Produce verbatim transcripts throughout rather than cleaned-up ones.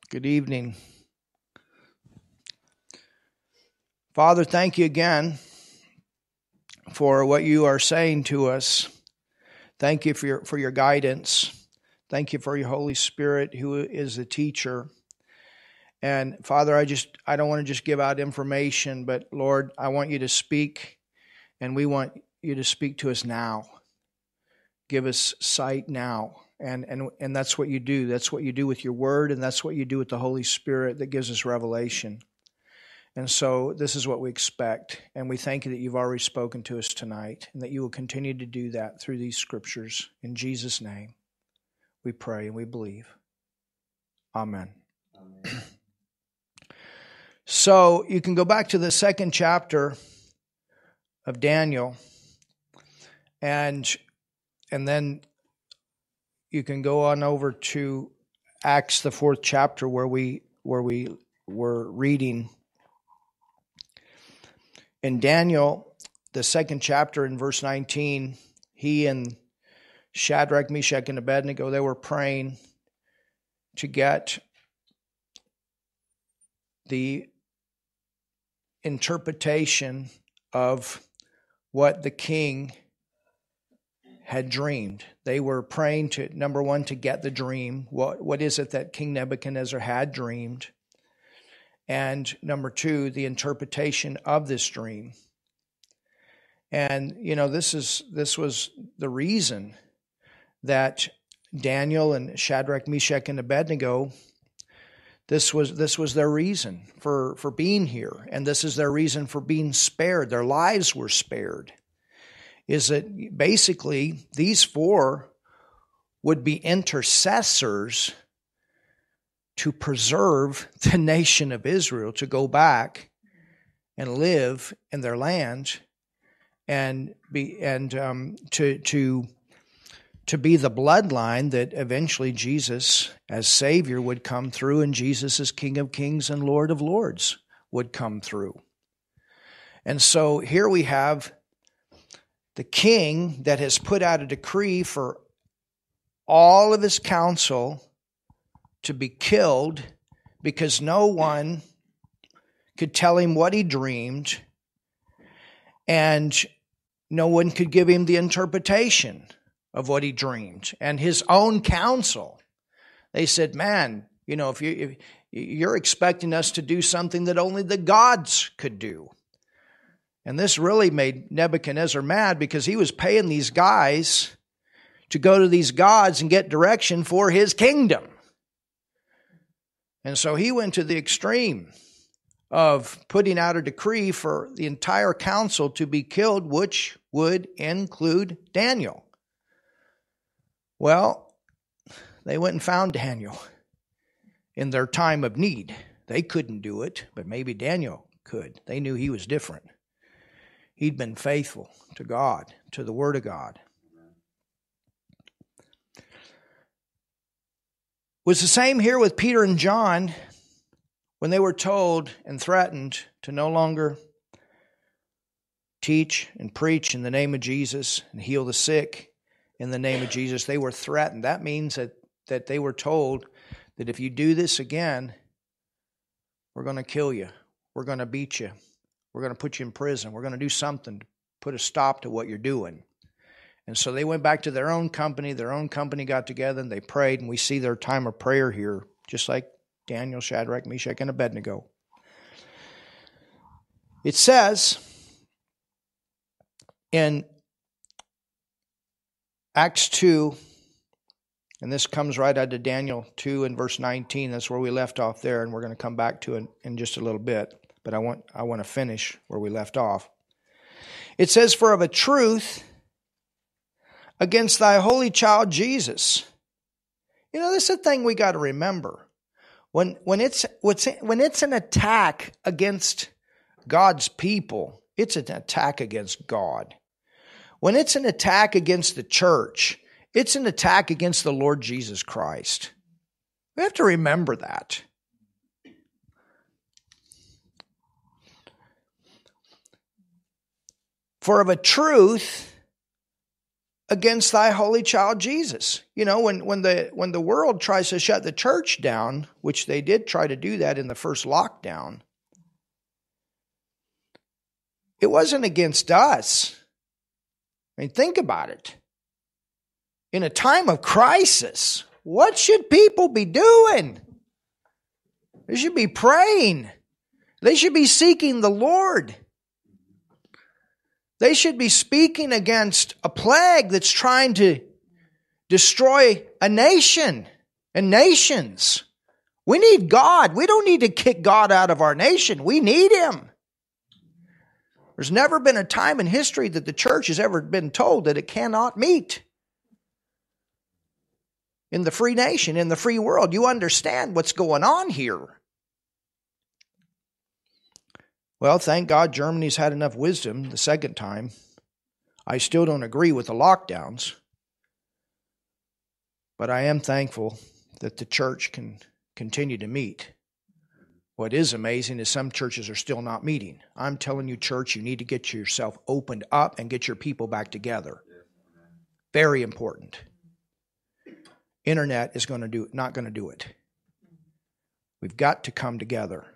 Good evening. Father, thank you again for what you are saying to us. Thank you for your, for your guidance. Thank you for your Holy Spirit who is the teacher. And Father, I just I don't want to just give out information, but Lord, I want you to speak, and we want you to speak to us now. Give us sight now. And and and that's what you do. That's what you do with your word, and that's what you do with the Holy Spirit that gives us revelation. And so this is what we expect. And we thank you that you've already spoken to us tonight, and that you will continue to do that through these scriptures. In Jesus' name, we pray and we believe. Amen. Amen. So you can go back to the second chapter of Daniel, and and then you can go on over to Acts, the fourth chapter, where we where we were reading. In Daniel, the second chapter, in verse nineteen, he and Shadrach, Meshach, and Abednego, they were praying to get the interpretation of what the king had dreamed. They were praying to, number one, to get the dream. What, what is it that King Nebuchadnezzar had dreamed? And number two, the interpretation of this dream. And, you know, this is this was the reason that Daniel and Shadrach, Meshach, and Abednego, this was this was their reason for, for being here. And this is their reason for being spared. Their lives were spared. Is that basically these four would be intercessors to preserve the nation of Israel, to go back and live in their land, and be and um, to to to be the bloodline that eventually Jesus, as Savior, would come through, and Jesus, as King of Kings and Lord of Lords, would come through. And so here we have the king that has put out a decree for all of his council to be killed because no one could tell him what he dreamed, and no one could give him the interpretation of what he dreamed. And his own council, they said, man, you know, if, you, if you're expecting us to do something that only the gods could do. And this really made Nebuchadnezzar mad, because he was paying these guys to go to these gods and get direction for his kingdom. And so he went to the extreme of putting out a decree for the entire council to be killed, which would include Daniel. Well, they went and found Daniel in their time of need. They couldn't do it, but maybe Daniel could. They knew he was different. He'd been faithful to God, to the Word of God. It was the same here with Peter and John when they were told and threatened to no longer teach and preach in the name of Jesus and heal the sick in the name of Jesus. They were threatened. That means that, that they were told that if you do this again, we're going to kill you. We're going to beat you. We're going to put you in prison. We're going to do something to put a stop to what you're doing. And so they went back to their own company. Their own company got together and they prayed. And we see their time of prayer here, just like Daniel, Shadrach, Meshach, and Abednego. It says in Acts two, and this comes right out of Daniel two and verse nineteen. That's where we left off there, and we're going to come back to it in just a little bit. But I want I want to finish where we left off. It says, "For of a truth, against thy holy child Jesus." You know, this is a thing we got to remember. When when it's when it's an attack against God's people, it's an attack against God. When it's an attack against the church, it's an attack against the Lord Jesus Christ. We have to remember that. For of a truth, against thy holy child Jesus. You know, when, when the when the world tries to shut the church down, which they did try to do that in the first lockdown, it wasn't against us. I mean, think about it. In a time of crisis, what should people be doing? They should be praying. They should be seeking the Lord. They should be speaking against a plague that's trying to destroy a nation and nations. We need God. We don't need to kick God out of our nation. We need Him. There's never been a time in history that the church has ever been told that it cannot meet. In the free nation, in the free world, you understand what's going on here. Well, thank God Germany's had enough wisdom the second time. I still don't agree with the lockdowns. But I am thankful that the church can continue to meet. What is amazing is some churches are still not meeting. I'm telling you, church, you need to get yourself opened up and get your people back together. Very important. Internet is going to do not going to do it. We've got to come together.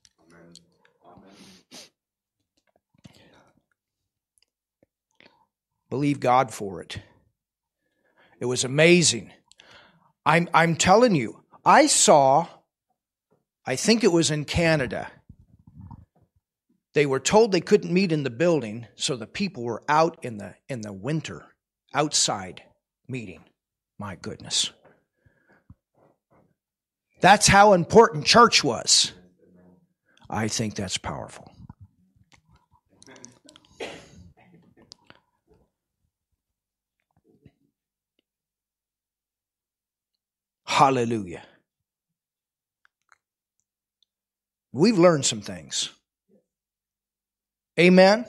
Believe God for it. It was amazing. I'm I'm telling you, I saw, I think it was in Canada. They were told they couldn't meet in the building, so the people were out in the in the winter, outside meeting. My goodness. That's how important church was. I think that's powerful. Hallelujah. We've learned some things. Amen?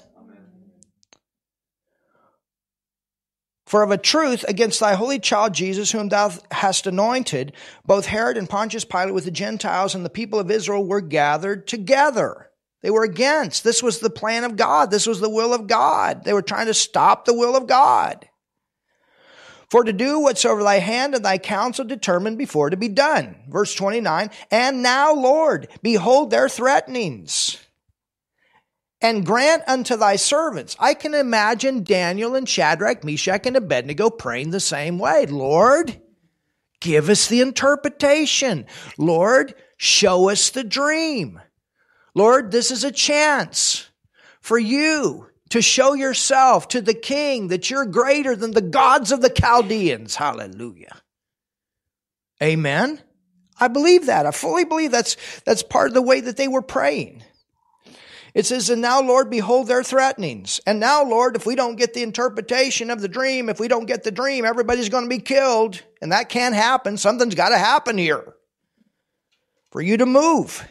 For of a truth, against thy holy child Jesus, whom thou hast anointed, both Herod and Pontius Pilate with the Gentiles and the people of Israel were gathered together. They were against. This was the plan of God. This was the will of God. They were trying to stop the will of God. For to do whatsoever thy hand and thy counsel determined before to be done. Verse twenty-nine, and now, Lord, behold their threatenings, and grant unto thy servants. I can imagine Daniel and Shadrach, Meshach, and Abednego praying the same way. Lord, give us the interpretation. Lord, show us the dream. Lord, this is a chance for you to show yourself to the king that you're greater than the gods of the Chaldeans. Hallelujah. Amen. I believe that. I fully believe that's, that's part of the way that they were praying. It says, and now, Lord, behold their threatenings. And now, Lord, if we don't get the interpretation of the dream, if we don't get the dream, everybody's going to be killed. And that can't happen. Something's got to happen here for you to move.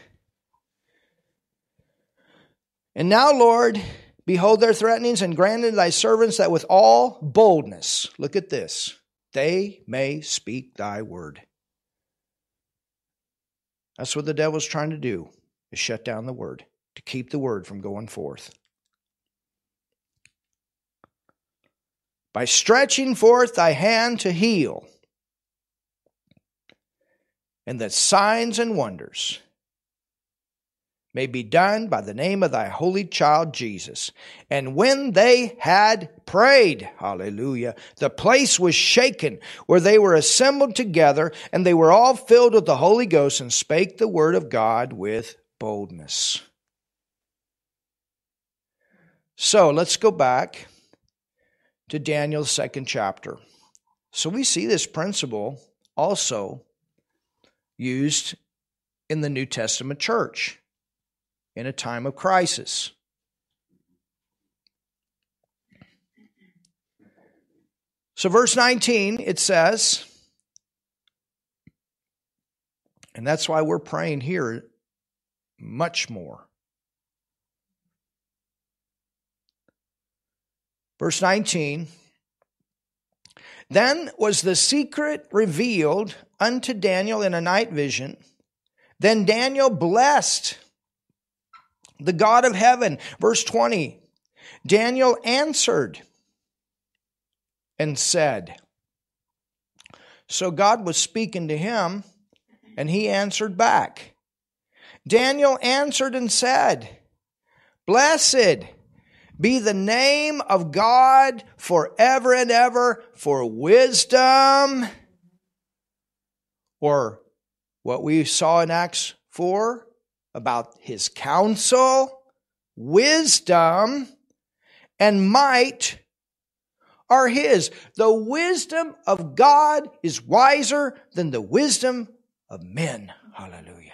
And now, Lord, behold their threatenings, and grant unto thy servants that with all boldness, look at this, they may speak thy word. That's what the devil's trying to do, is shut down the word, to keep the word from going forth. By stretching forth thy hand to heal, and that signs and wonders may be done by the name of thy holy child Jesus. And when they had prayed, hallelujah, the place was shaken where they were assembled together, and they were all filled with the Holy Ghost and spake the word of God with boldness. So let's go back to Daniel's second chapter. So we see this principle also used in the New Testament church in a time of crisis. So verse nineteen, it says, and that's why we're praying here much more. Verse nineteen, then was the secret revealed unto Daniel in a night vision. Then Daniel blessed the God of heaven. Verse twenty, Daniel answered and said. So God was speaking to him, and he answered back. Daniel answered and said, Blessed be the name of God forever and ever for wisdom. Or what we saw in Acts four about his counsel, wisdom, and might are his. The wisdom of God is wiser than the wisdom of men. Hallelujah.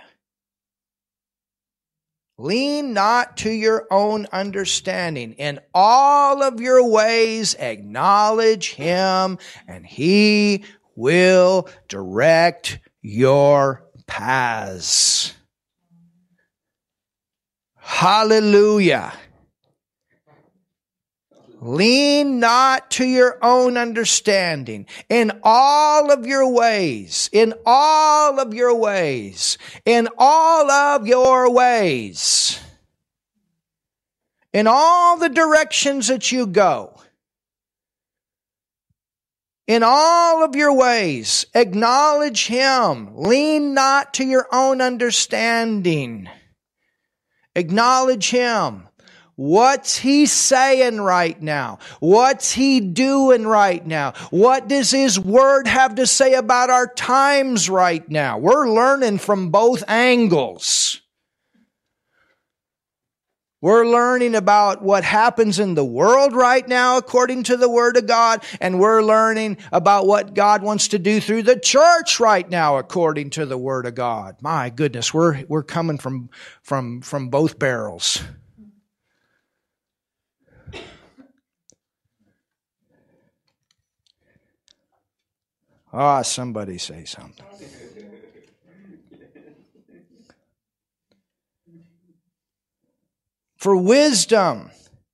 Lean not to your own understanding. In all of your ways acknowledge him, and he will direct your paths. Hallelujah. Lean not to your own understanding. In all of your ways, in all of your ways, in all of your ways, in all the directions that you go, in all of your ways, acknowledge him. Lean not to your own understanding. Acknowledge him. What's he saying right now? What's he doing right now? What does his word have to say about our times right now? We're learning from both angles. We're learning about what happens in the world right now according to the Word of God, and we're learning about what God wants to do through the church right now according to the Word of God. My goodness, we're we're coming from from from both barrels. Ah, oh, somebody say something. For wisdom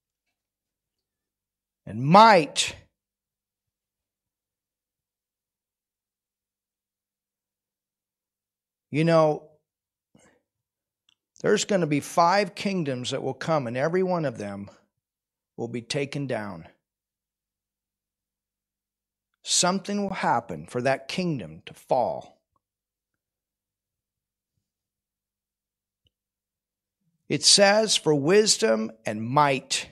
and might, you know, there's going to be five kingdoms that will come, and every one of them will be taken down. Something will happen for that kingdom to fall. It says for wisdom and might.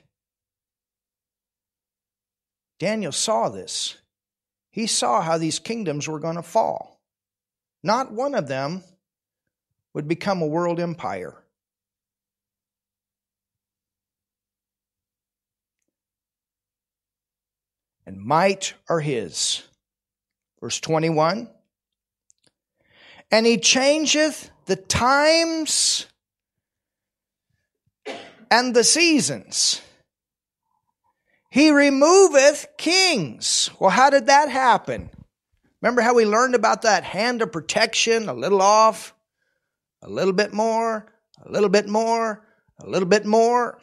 Daniel saw this. He saw how these kingdoms were going to fall. Not one of them would become a world empire. And might are his. Verse twenty-one. And he changeth the times and the seasons. He removeth kings. Well, how did that happen? Remember how we learned about that hand of protection, a little off, a little bit more, a little bit more, a little bit more.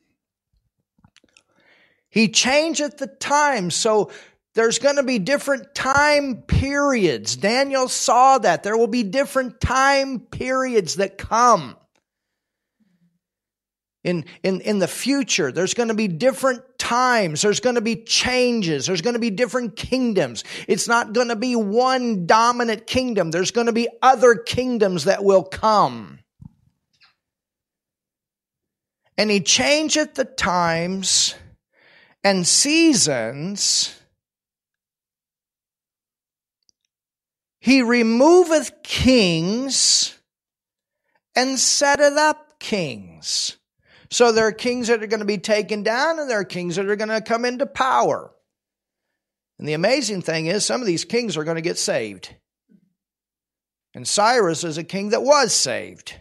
He changeth the times. So there's going to be different time periods. Daniel saw that. There will be different time periods that come. In, in, in the future, there's going to be different times. There's going to be changes. There's going to be different kingdoms. It's not going to be one dominant kingdom. There's going to be other kingdoms that will come. And he changeth the times and seasons. He removeth kings and setteth up kings. So there are kings that are going to be taken down, and there are kings that are going to come into power. And the amazing thing is, some of these kings are going to get saved. And Cyrus is a king that was saved.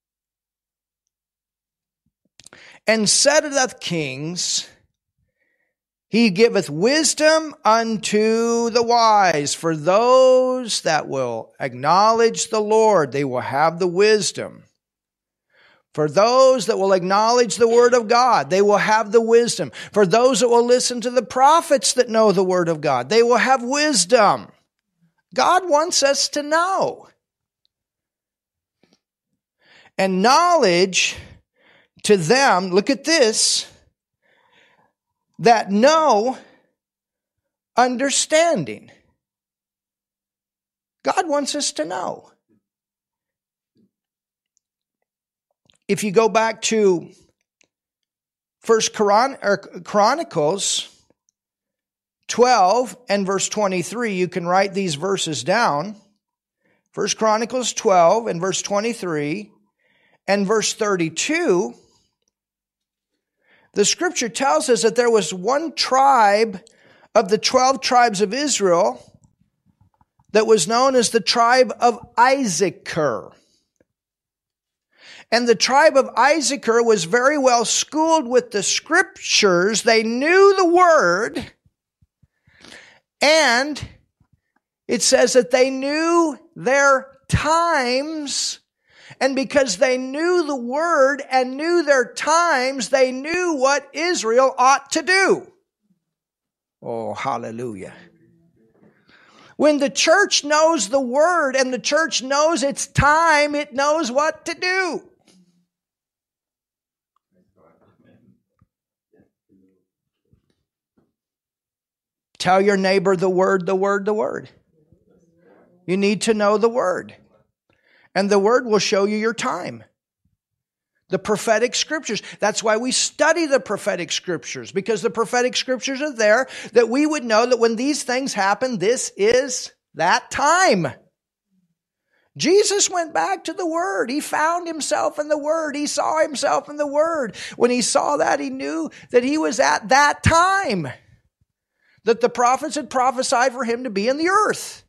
And setteth up kings. He giveth wisdom unto the wise. For those that will acknowledge the Lord, they will have the wisdom. For those that will acknowledge the Word of God, they will have the wisdom. For those that will listen to the prophets that know the Word of God, they will have wisdom. God wants us to know. And knowledge to them, look at this, that know understanding. God wants us to know. If you go back to First Chronicles twelve and verse twenty-three, you can write these verses down. First Chronicles twelve and verse twenty-three and verse thirty-two, the scripture tells us that there was one tribe of the twelve tribes of Israel that was known as the tribe of Issachar. And the tribe of Issachar was very well schooled with the scriptures. They knew the word. And it says that they knew their times. And because they knew the word and knew their times, they knew what Israel ought to do. Oh, hallelujah. When the church knows the word and the church knows its time, it knows what to do. Tell your neighbor the word, the word, the word. You need to know the word. And the word will show you your time. The prophetic scriptures. That's why we study the prophetic scriptures. Because the prophetic scriptures are there that we would know that when these things happen, this is that time. Jesus went back to the Word. He found himself in the Word. He saw himself in the Word. When he saw that, he knew that he was at that time. That the prophets had prophesied for him to be in the earth.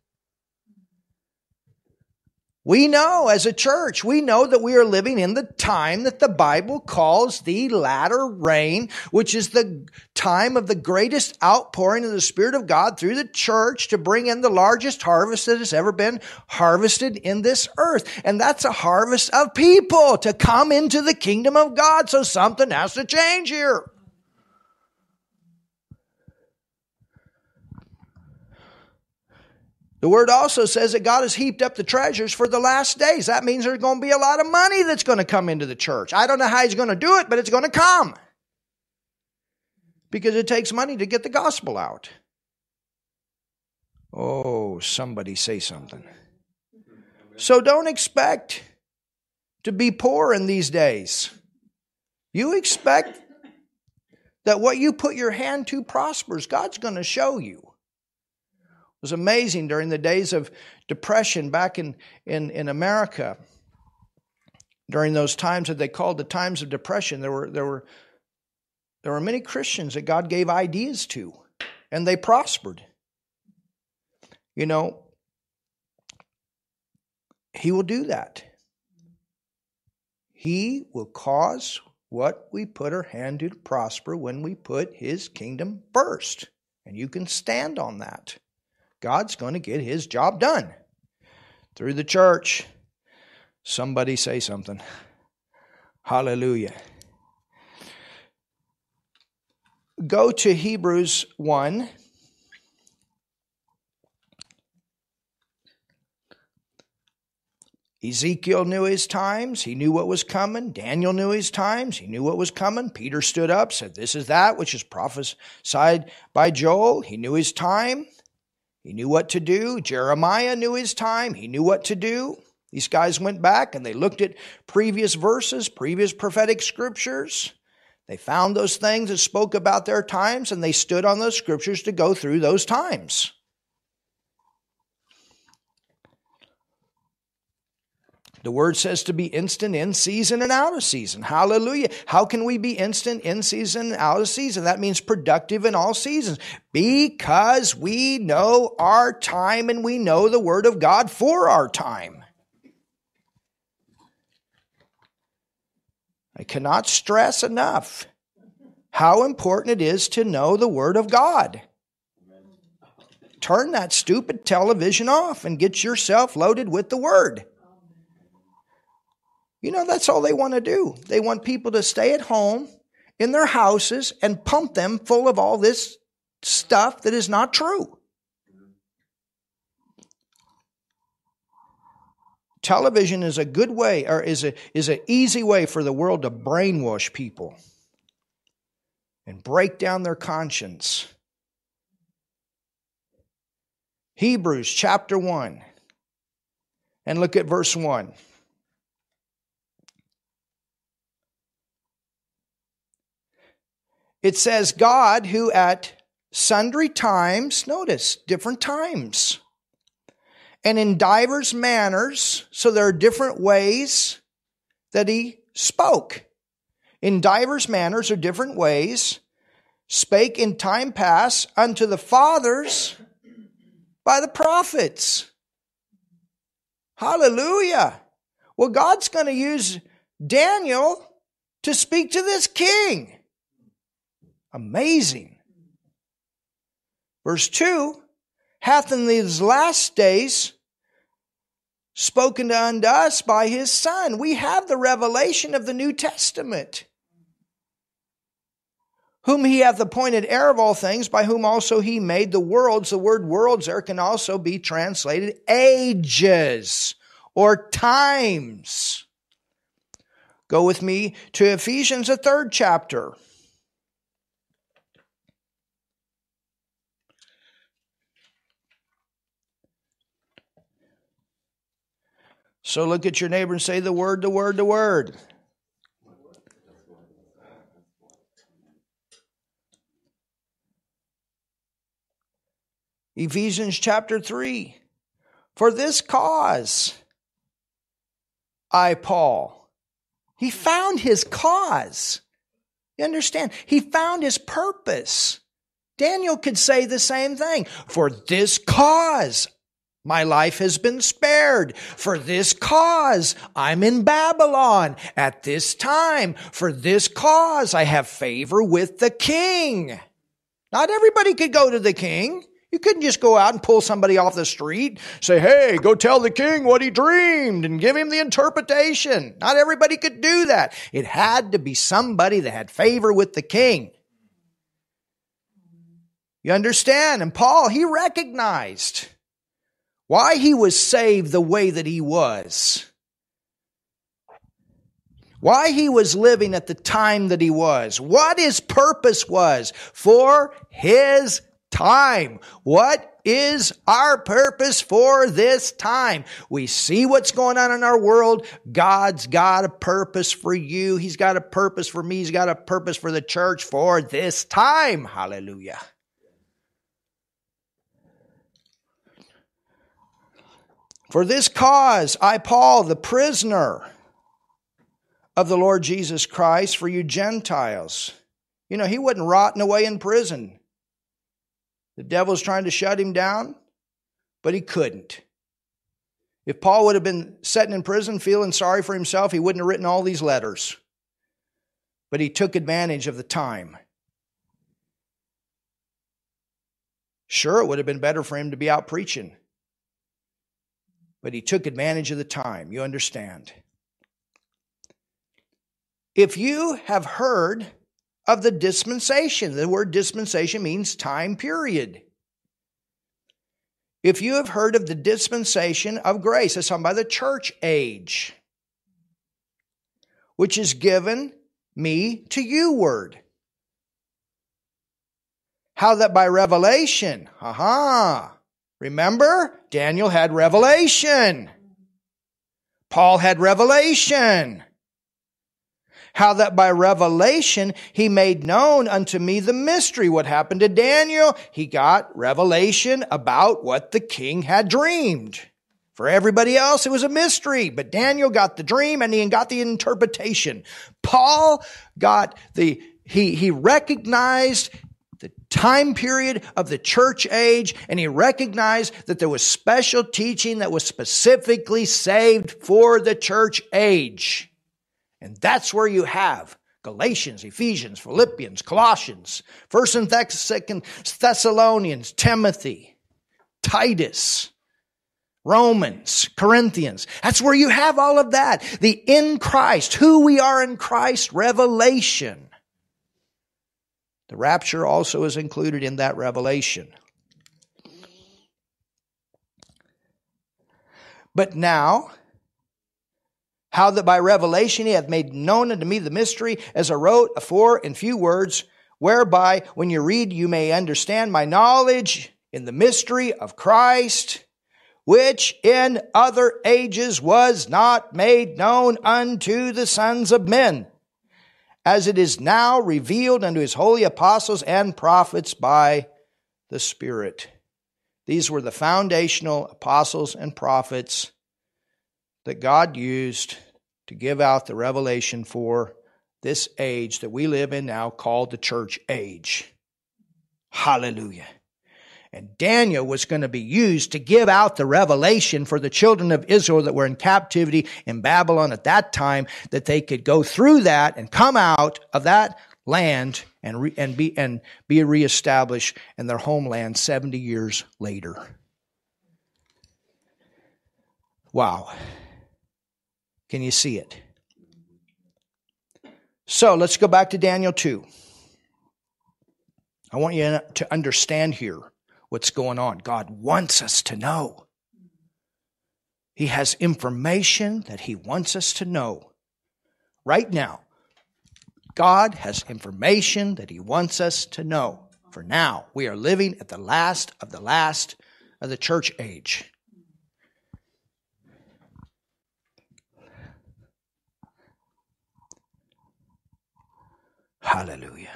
We know as a church, we know that we are living in the time that the Bible calls the latter rain, which is the time of the greatest outpouring of the Spirit of God through the church to bring in the largest harvest that has ever been harvested in this earth. And that's a harvest of people to come into the kingdom of God. So something has to change here. The word also says that God has heaped up the treasures for the last days. That means there's going to be a lot of money that's going to come into the church. I don't know how he's going to do it, but it's going to come. Because it takes money to get the gospel out. Oh, somebody say something. So don't expect to be poor in these days. You expect that what you put your hand to prospers. God's going to show you. It was amazing during the days of depression back in, in, in America. During those times that they called the times of depression, there were, there were, there were many Christians that God gave ideas to, and they prospered. You know, He will do that. He will cause what we put our hand to to prosper when we put His kingdom first. And you can stand on that. God's going to get His job done through the church. Somebody say something. Hallelujah. Go to Hebrews one. Ezekiel knew his times. He knew what was coming. Daniel knew his times. He knew what was coming. Peter stood up, said, "This is that which is prophesied by Joel." He knew his time. He knew what to do. Jeremiah knew his time. He knew what to do. These guys went back and they looked at previous verses, previous prophetic scriptures. They found those things that spoke about their times, and they stood on those scriptures to go through those times. The word says to be instant in season and out of season. Hallelujah. How can we be instant in season and out of season? That means productive in all seasons. Because we know our time and we know the word of God for our time. I cannot stress enough how important it is to know the word of God. Turn that stupid television off and get yourself loaded with the word. You know, that's all they want to do. They want people to stay at home in their houses and pump them full of all this stuff that is not true. Television is a good way, or is a is an easy way for the world to brainwash people and break down their conscience. Hebrews chapter one. And look at verse one. It says, God who at sundry times, notice, different times, and in divers manners, so there are different ways that he spoke. In divers manners or different ways, spake in time past unto the fathers by the prophets. Hallelujah. Well, God's going to use Daniel to speak to this king. Amazing. Verse two, hath in these last days spoken unto us by his Son. We have the revelation of the New Testament. Whom he hath appointed heir of all things, by whom also he made the worlds. The word worlds there can also be translated ages or times. Go with me to Ephesians, the third chapter. So look at your neighbor and say the word, the word, the word. Ephesians chapter three. For this cause, I, Paul. He found his cause. You understand? He found his purpose. Daniel could say the same thing. For this cause, my life has been spared. For this cause, I'm in Babylon at this time. For this cause, I have favor with the king. Not everybody could go to the king. You couldn't just go out and pull somebody off the street, say, hey, go tell the king what he dreamed and give him the interpretation. Not everybody could do that. It had to be somebody that had favor with the king. You understand? And Paul, he recognized why he was saved the way that he was. Why he was living at the time that he was. What his purpose was for his time. What is our purpose for this time? We see what's going on in our world. God's got a purpose for you. He's got a purpose for me. He's got a purpose for the church for this time. Hallelujah. For this cause, I, Paul, the prisoner of the Lord Jesus Christ, for you Gentiles. You know, he wasn't rotting away in prison. The devil's trying to shut him down, but he couldn't. If Paul would have been sitting in prison feeling sorry for himself, he wouldn't have written all these letters. But he took advantage of the time. Sure, it would have been better for him to be out preaching. But he took advantage of the time. You understand? If you have heard of the dispensation, the word dispensation means time period. If you have heard of the dispensation of grace, that's talking about the church age, which is given me to you word. How that by revelation, aha, remember, Daniel had revelation. Paul had revelation. How that by revelation he made known unto me the mystery. What happened to Daniel? He got revelation about what the king had dreamed. For everybody else, it was a mystery. But Daniel got the dream and he got the interpretation. Paul got the, he, he recognized the time period of the church age, and he recognized that there was special teaching that was specifically saved for the church age. And that's where you have Galatians, Ephesians, Philippians, Colossians, First and Second Thessalonians, Timothy, Titus, Romans, Corinthians. That's where you have all of that. The in Christ, who we are in Christ, revelation. The rapture also is included in that revelation. But now, how that by revelation he hath made known unto me the mystery, as I wrote afore in few words, whereby when you read you may understand my knowledge in the mystery of Christ, which in other ages was not made known unto the sons of men, as it is now revealed unto his holy apostles and prophets by the Spirit. These were the foundational apostles and prophets that God used to give out the revelation for this age that we live in now, called the church age. Hallelujah. And Daniel was going to be used to give out the revelation for the children of Israel that were in captivity in Babylon at that time, that they could go through that and come out of that land and re, and be and be reestablished in their homeland seventy years later. Wow. Can you see it? So let's go back to Daniel two. I want you to understand here what's going on. God wants us to know. He has information that He wants us to know. Right now, God has information that He wants us to know. For now, we are living at the last of the last of the church age. Hallelujah.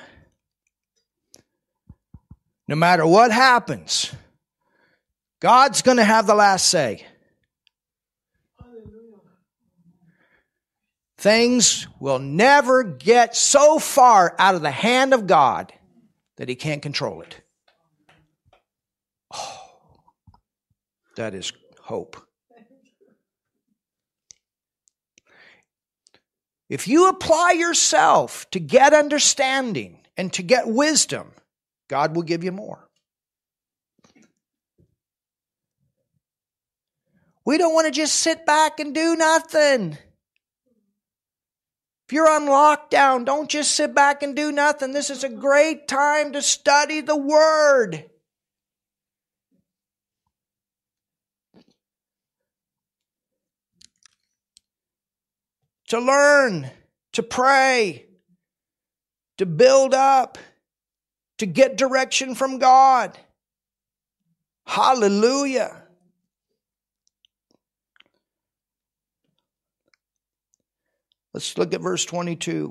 No matter what happens, God's going to have the last say. Things will never get so far out of the hand of God that He can't control it. Oh, that is hope. If you apply yourself to get understanding and to get wisdom, God will give you more. We don't want to just sit back and do nothing. If you're on lockdown, don't just sit back and do nothing. This is a great time to study the Word. To learn, to pray, to build up, to get direction from God. Hallelujah. Let's look at verse twenty-two.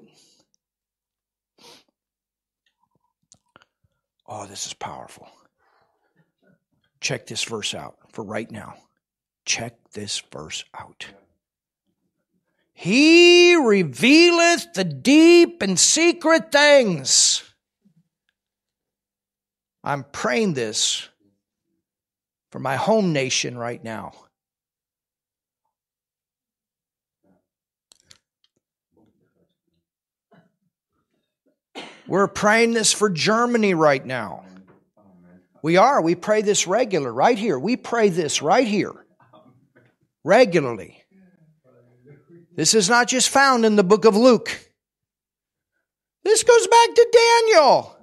Oh, this is powerful. Check this verse out for right now. Check this verse out. He revealeth the deep and secret things. I'm praying this for my home nation right now. We're praying this for Germany right now. We are. We pray this regular right here. We pray this right here regularly. This is not just found in the book of Luke. This goes back to Daniel.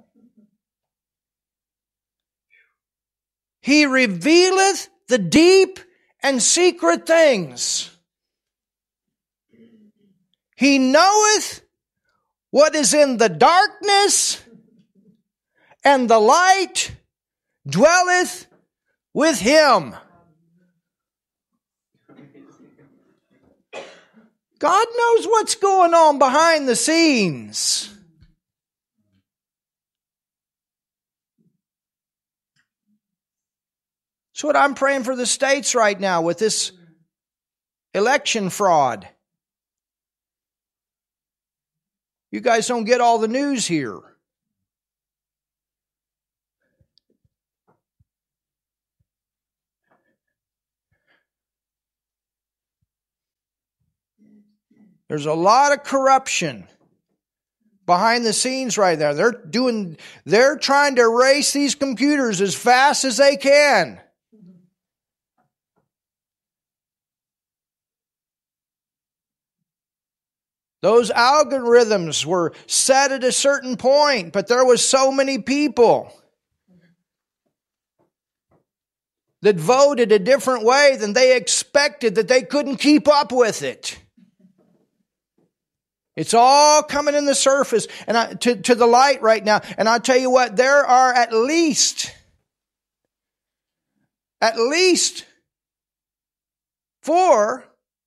He revealeth the deep and secret things. He knoweth what is in the darkness, and the light dwelleth with Him. God knows what's going on behind the scenes. That's what I'm praying for the states right now with this election fraud. You guys don't get all the news here. There's a lot of corruption behind the scenes right there. They're doing, they're trying to erase these computers as fast as they can. Those algorithms were set at a certain point, but there was so many people that voted a different way than they expected that they couldn't keep up with it. It's all coming in the surface and I, to, to the light right now. And I'll tell you what, there are at least at least four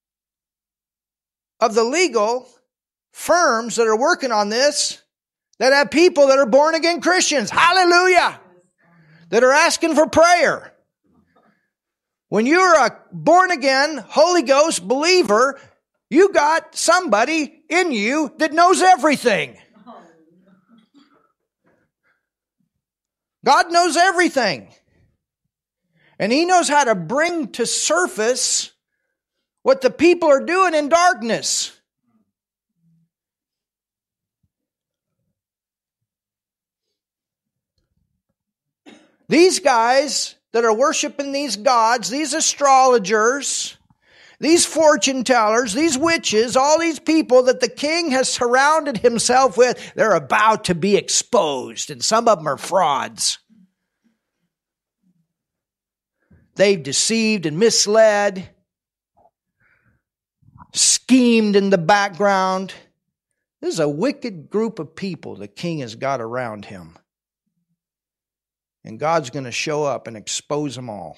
of the legal firms that are working on this that have people that are born again Christians. Hallelujah! That are asking for prayer. When you're a born again, Holy Ghost believer, you got somebody in you that knows everything. God knows everything. And He knows how to bring to surface what the people are doing in darkness. These guys that are worshiping these gods, these astrologers, these fortune tellers, these witches, all these people that the king has surrounded himself with, they're about to be exposed. And some of them are frauds. They've deceived and misled, schemed in the background. This is a wicked group of people the king has got around him. And God's going to show up and expose them all.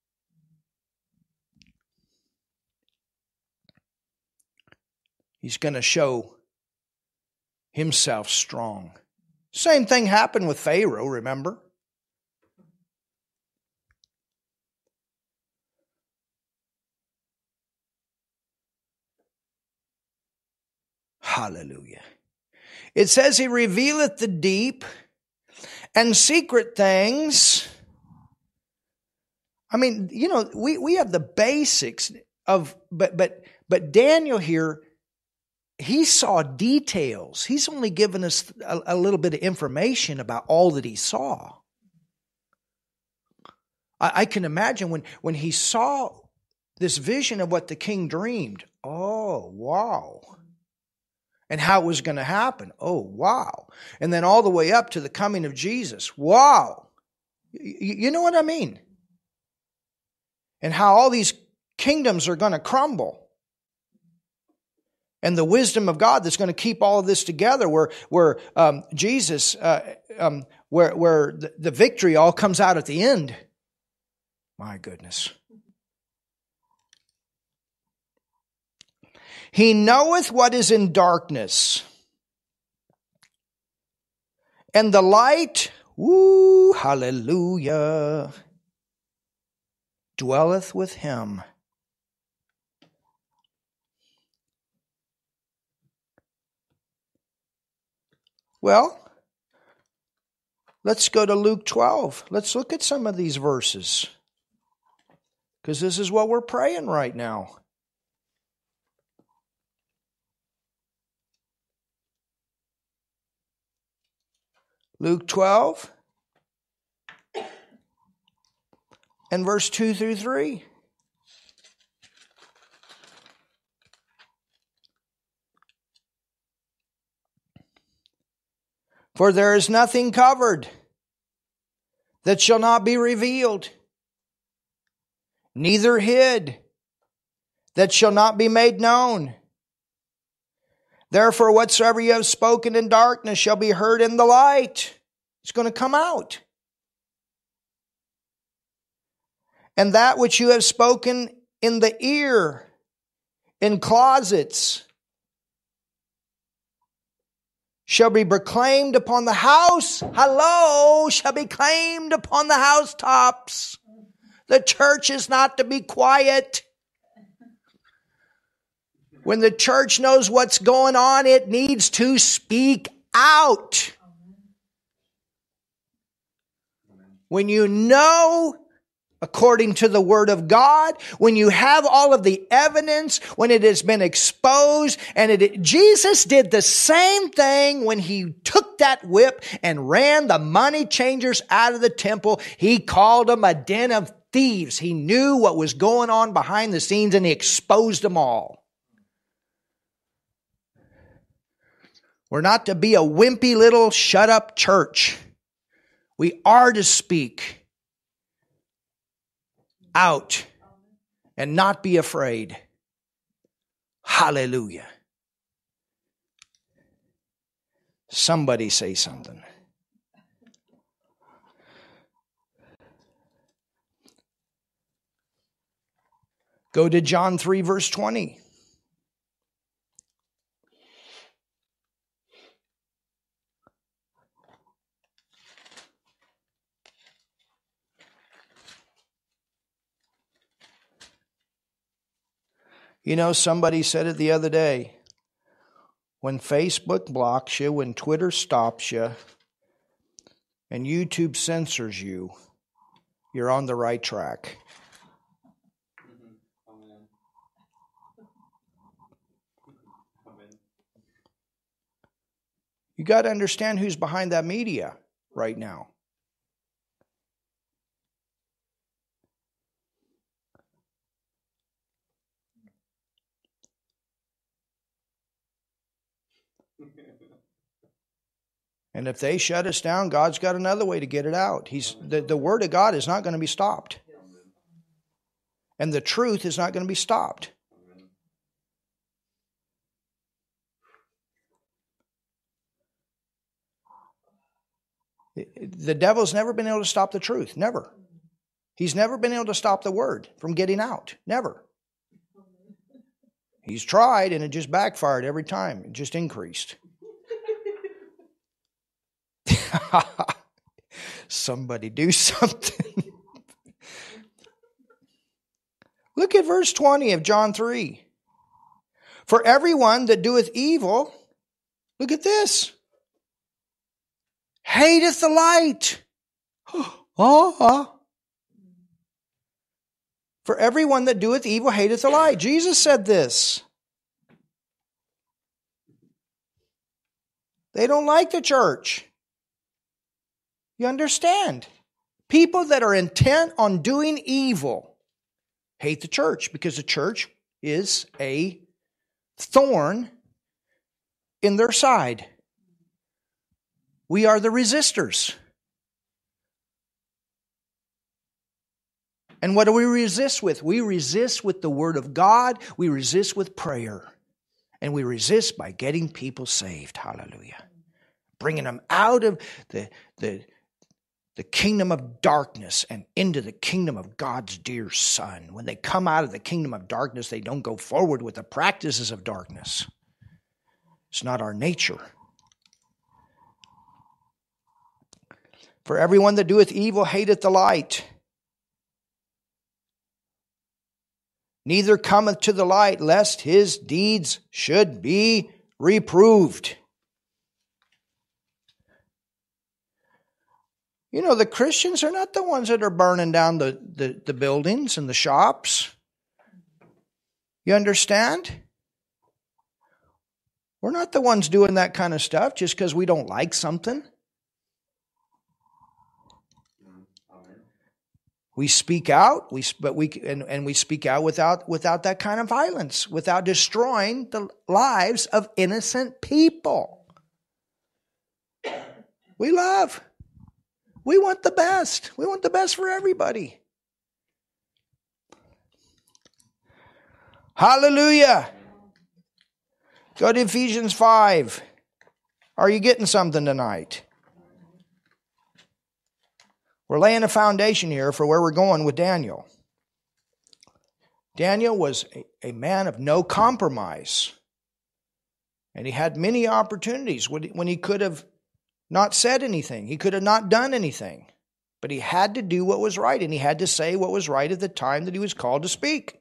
He's going to show Himself strong. Same thing happened with Pharaoh, remember? Hallelujah. It says He revealeth the deep and secret things. I mean, you know, we, we have the basics of, but but but Daniel here, he saw details. He's only given us a, a little bit of information about all that he saw. I, I can imagine when, when he saw this vision of what the king dreamed. Oh, wow. And how it was going to happen. Oh, wow. And then all the way up to the coming of Jesus. Wow. You, you know what I mean? And how all these kingdoms are going to crumble. And the wisdom of God that's going to keep all of this together, where where um, Jesus, uh, um, where where the, the victory all comes out at the end. My goodness. He knoweth what is in darkness. And the light, woo, hallelujah, dwelleth with Him. Well, let's go to Luke twelve. Let's look at some of these verses. Because this is what we're praying right now. Luke twelve and verse two through three. For there is nothing covered that shall not be revealed, neither hid that shall not be made known. Therefore, whatsoever you have spoken in darkness shall be heard in the light. It's going to come out. And that which you have spoken in the ear, in closets, shall be proclaimed upon the house. Hello, shall be claimed upon the housetops. The church is not to be quiet. When the church knows what's going on, it needs to speak out. When you know, according to the Word of God, when you have all of the evidence, when it has been exposed, and it, Jesus did the same thing when He took that whip and ran the money changers out of the temple. He called them a den of thieves. He knew what was going on behind the scenes, and He exposed them all. We're not to be a wimpy little shut-up church. We are to speak out and not be afraid. Hallelujah. Somebody say something. Go to John three, verse twenty. You know, somebody said it the other day. When Facebook blocks you, when Twitter stops you, and YouTube censors you, you're on the right track. Amen. Amen. You got to understand who's behind that media right now. And if they shut us down, God's got another way to get it out. He's the, the Word of God is not going to be stopped. And the truth is not going to be stopped. The devil's never been able to stop the truth. Never. He's never been able to stop the Word from getting out. Never. He's tried and it just backfired every time. It just increased. Somebody do something. Look at verse twenty of John three. For everyone that doeth evil, look at this, hateth the light. Oh, for everyone that doeth evil hateth the light. Jesus said this. They don't like the church. You understand? People that are intent on doing evil hate the church because the church is a thorn in their side. We are the resistors. And what do we resist with? We resist with the Word of God. We resist with prayer. And we resist by getting people saved. Hallelujah. Bringing them out of the, the, the kingdom of darkness and into the kingdom of God's dear Son. When they come out of the kingdom of darkness, they don't go forward with the practices of darkness. It's not our nature. For everyone that doeth evil hateth the light, neither cometh to the light, lest his deeds should be reproved. You know, the Christians are not the ones that are burning down the, the, the buildings and the shops. You understand? We're not the ones doing that kind of stuff just because we don't like something. We speak out, we but we and, and we speak out without without that kind of violence, without destroying the lives of innocent people. We love. We want the best. We want the best for everybody. Hallelujah. Go to Ephesians five. Are you getting something tonight? We're laying a foundation here for where we're going with Daniel. Daniel was a, a man of no compromise. And he had many opportunities when he, when he could have not said anything. He could have not done anything. But he had to do what was right, and he had to say what was right at the time that he was called to speak.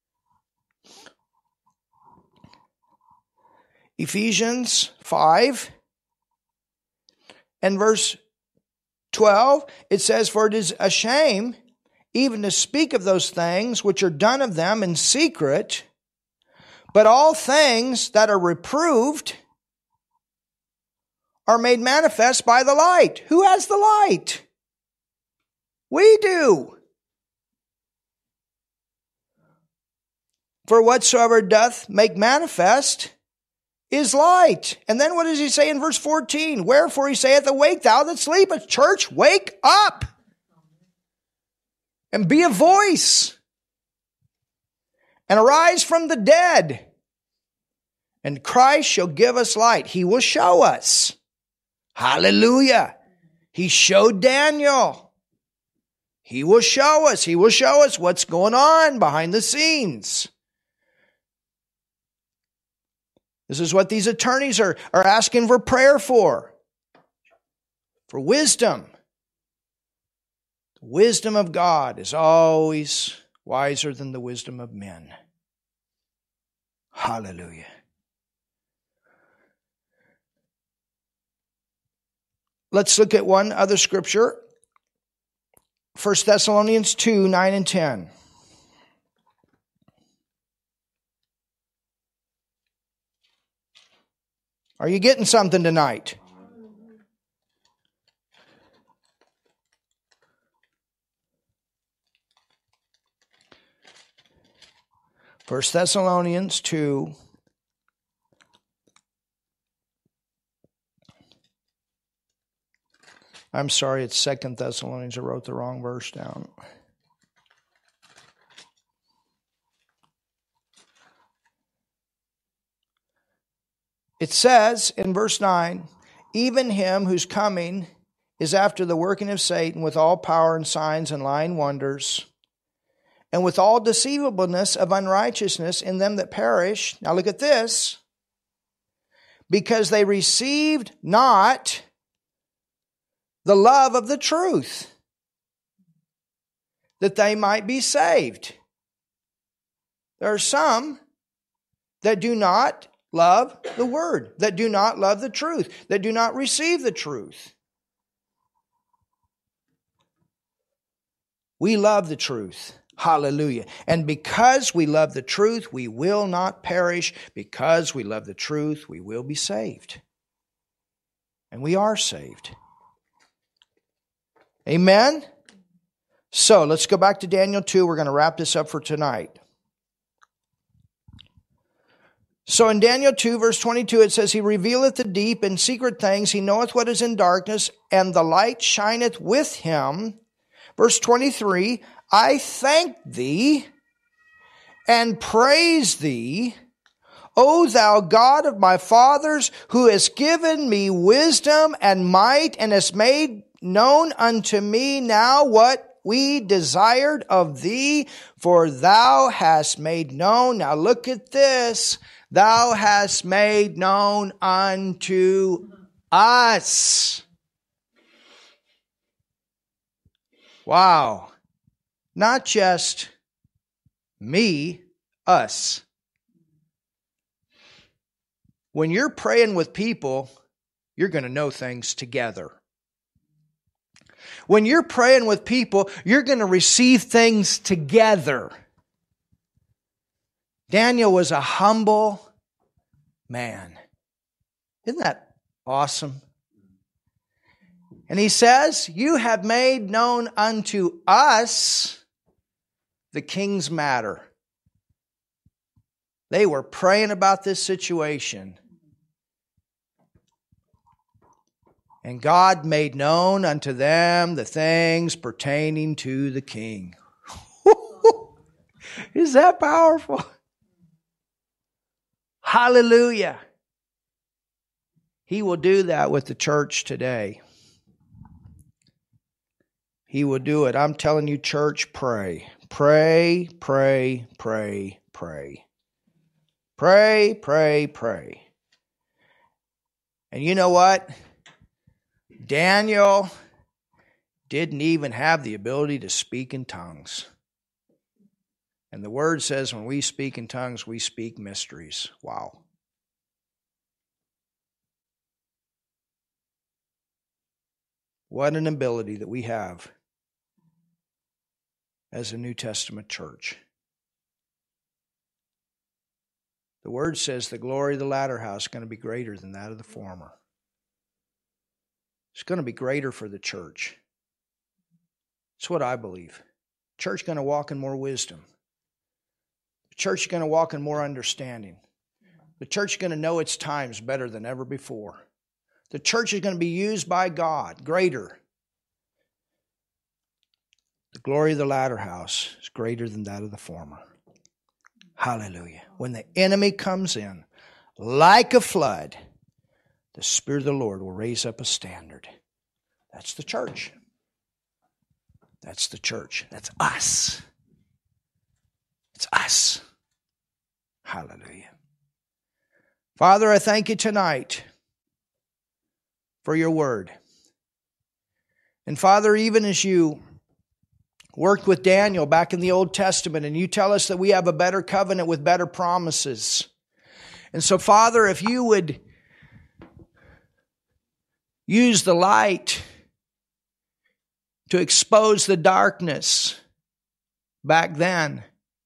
Ephesians five and verse twelve, it says, for it is a shame even to speak of those things which are done of them in secret, but all things that are reproved are made manifest by the light. Who has the light? We do. For whatsoever doth make manifest is light. And then what does he say in verse fourteen? Wherefore he saith, awake thou that sleepest. Church, wake up and be a voice and arise from the dead. And Christ shall give us light. He will show us. Hallelujah. He showed Daniel. He will show us. He will show us what's going on behind the scenes. This is what these attorneys are, are asking for prayer for. For wisdom. The wisdom of God is always wiser than the wisdom of men. Hallelujah. Let's look at one other scripture. First Thessalonians two, nine and ten. Are you getting something tonight? First Thessalonians two. I'm sorry, it's Second Thessalonians. I wrote the wrong verse down. It says in verse nine, even him whose coming is after the working of Satan with all power and signs and lying wonders, and with all deceivableness of unrighteousness in them that perish. Now look at this. Because they received not the love of the truth, that they might be saved. There are some that do not love the word, that do not love the truth, that do not receive the truth. We love the truth. Hallelujah. And because we love the truth, we will not perish. Because we love the truth, we will be saved. And we are saved. Amen? So, let's go back to Daniel two. We're going to wrap this up for tonight. So in Daniel two, verse twenty-two, it says, He revealeth the deep and secret things. He knoweth what is in darkness, and the light shineth with him. Verse twenty-three, I thank thee and praise thee, O thou God of my fathers, who hast given me wisdom and might, and hast made known unto me now what we desired of thee, for thou hast made known. Now look at this. Thou hast made known unto us. Wow. Not just me, us. When you're praying with people, you're going to know things together. When you're praying with people, you're going to receive things together. Daniel was a humble man. Isn't that awesome? And he says, you have made known unto us the king's matter. They were praying about this situation. And God made known unto them the things pertaining to the king. Is that powerful? Hallelujah. He will do that with the church today. He will do it. I'm telling you, church, pray. Pray, pray, pray, pray. Pray, pray, pray. And you know what? Daniel didn't even have the ability to speak in tongues. And the word says when we speak in tongues, we speak mysteries. Wow. What an ability that we have as a New Testament church. The word says the glory of the latter house is going to be greater than that of the former. It's going to be greater for the church. It's what I believe. Church is going to walk in more wisdom. The church is going to walk in more understanding. The church is going to know its times better than ever before. The church is going to be used by God greater. The glory of the latter house is greater than that of the former. Hallelujah. When the enemy comes in like a flood, the Spirit of the Lord will raise up a standard. That's the church. That's the church. That's us. It's us. Hallelujah. Father, I thank you tonight for your word. And Father, even as you worked with Daniel back in the Old Testament, and you tell us that we have a better covenant with better promises. And so, Father, if you would use the light to expose the darkness back then,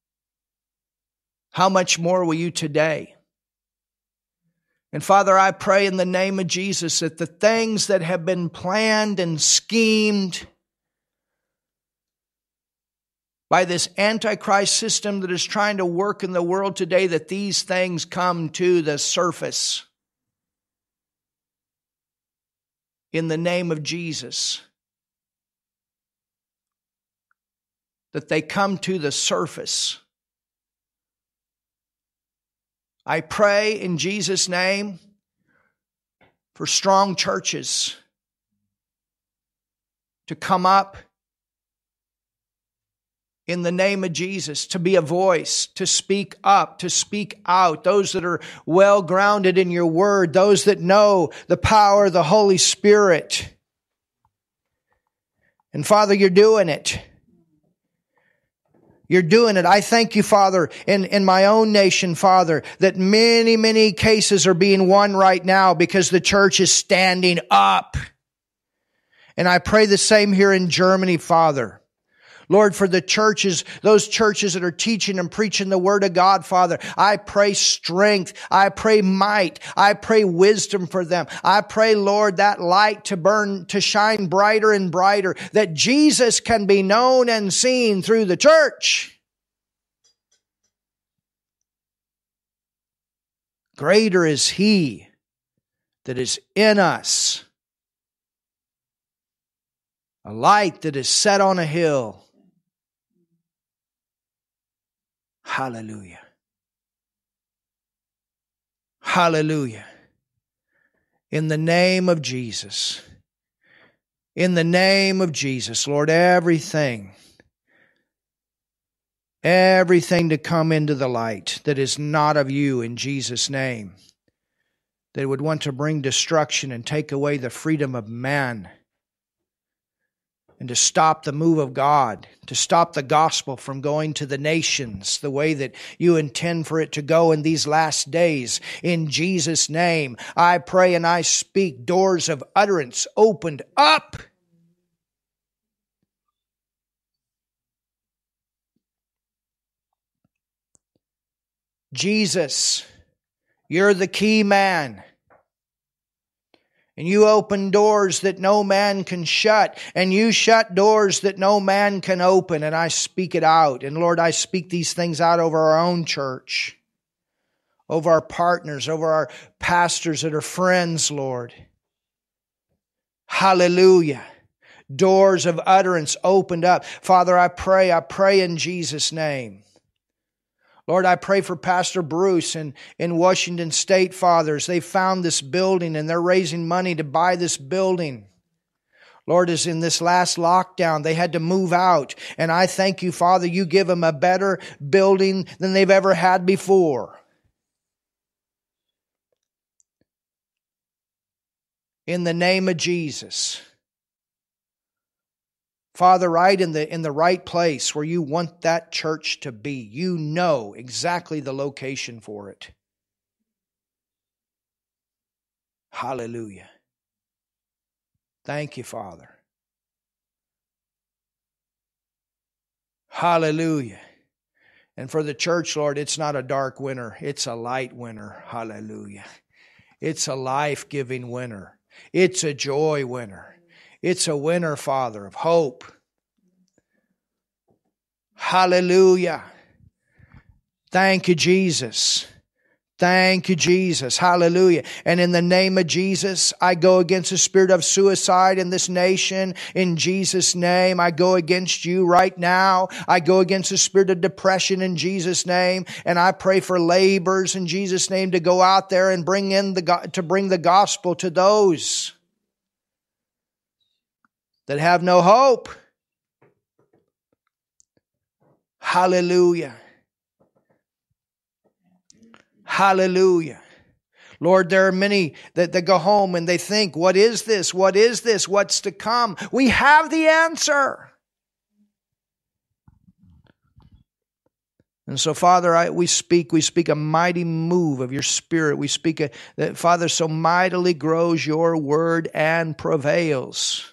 how much more will you today? And Father, I pray in the name of Jesus that the things that have been planned and schemed by this Antichrist system that is trying to work in the world today, that these things come to the surface. In the name of Jesus. That they come to the surface. I pray in Jesus' name for strong churches to come up in the name of Jesus, to be a voice, to speak up, to speak out. Those that are well grounded in your word, those that know the power of the Holy Spirit. And Father, you're doing it. You're doing it. I thank you, Father, in, in my own nation, Father, that many, many cases are being won right now because the church is standing up. And I pray the same here in Germany, Father. Lord, for the churches, those churches that are teaching and preaching the Word of God, Father, I pray strength. I pray might. I pray wisdom for them. I pray, Lord, that light to burn, to shine brighter and brighter, that Jesus can be known and seen through the church. Greater is He that is in us, a light that is set on a hill. Hallelujah. Hallelujah. In the name of Jesus. In the name of Jesus, Lord, everything, everything to come into the light that is not of you in Jesus' name, that would want to bring destruction and take away the freedom of man, and to stop the move of God, to stop the gospel from going to the nations the way that you intend for it to go in these last days. In Jesus' name, I pray and I speak doors of utterance opened up. Jesus, you're the key man. And you open doors that no man can shut. And you shut doors that no man can open. And I speak it out. And Lord, I speak these things out over our own church. Over our partners. Over our pastors that are friends, Lord. Hallelujah. Doors of utterance opened up. Father, I pray, I pray in Jesus' name. Lord, I pray for Pastor Bruce in, in Washington State, fathers. They found this building and they're raising money to buy this building. Lord, as in this last lockdown, they had to move out. And I thank you, Father, you give them a better building than they've ever had before. In the name of Jesus. Father, right in the in the right place where you want that church to be. You know exactly the location for it. Hallelujah. Thank you, Father. Hallelujah. And for the church, Lord, it's not a dark winter. It's a light winter. Hallelujah. It's a life-giving winter. It's a joy winter. It's a winter, Father, of hope. Hallelujah. Thank you, Jesus. Thank you, Jesus. Hallelujah. And in the name of Jesus, I go against the spirit of suicide in this nation. In Jesus' name, I go against you right now. I go against the spirit of depression in Jesus' name. And I pray for laborers in Jesus' name to go out there and bring in the, to bring the gospel to those that have no hope. Hallelujah. Hallelujah. Lord, there are many that, that go home and they think, what is this? What is this? What's to come? We have the answer. And so, Father, I, we speak, we speak a mighty move of your Spirit. We speak a, that, Father, so mightily grows your word and prevails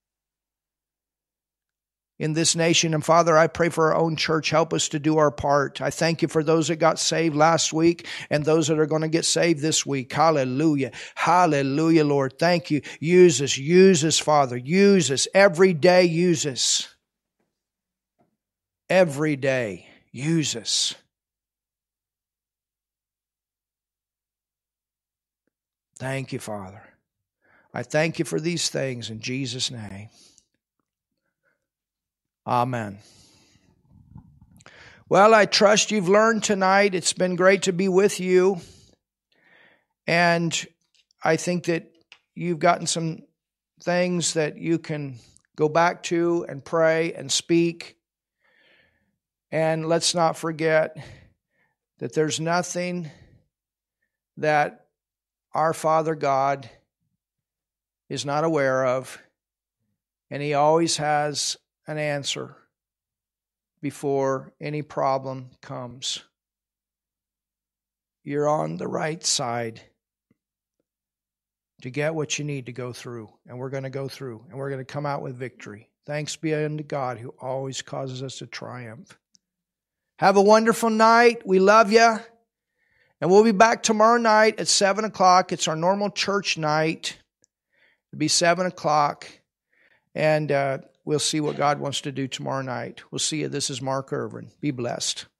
in this nation. And Father, I pray for our own church. Help us to do our part. I thank you for those that got saved last week and those that are going to get saved this week. Hallelujah. Hallelujah, Lord. Thank you. Use us. Use us, Father. Use us. Every day, use us. Every day. Use us. Thank you, Father. I thank you for these things in Jesus' name. Amen. Well, I trust you've learned tonight. It's been great to be with you. And I think that you've gotten some things that you can go back to and pray and speak. And let's not forget that there's nothing that our Father God is not aware of, and He always has an answer before any problem comes. You're on the right side to get what you need to go through, and we're going to go through, and we're going to come out with victory. Thanks be unto God who always causes us to triumph. Have a wonderful night. We love you. And we'll be back tomorrow night at seven o'clock. It's our normal church night. It'll be seven o'clock. And uh, we'll see what God wants to do tomorrow night. We'll see you. This is Mark Irvin. Be blessed.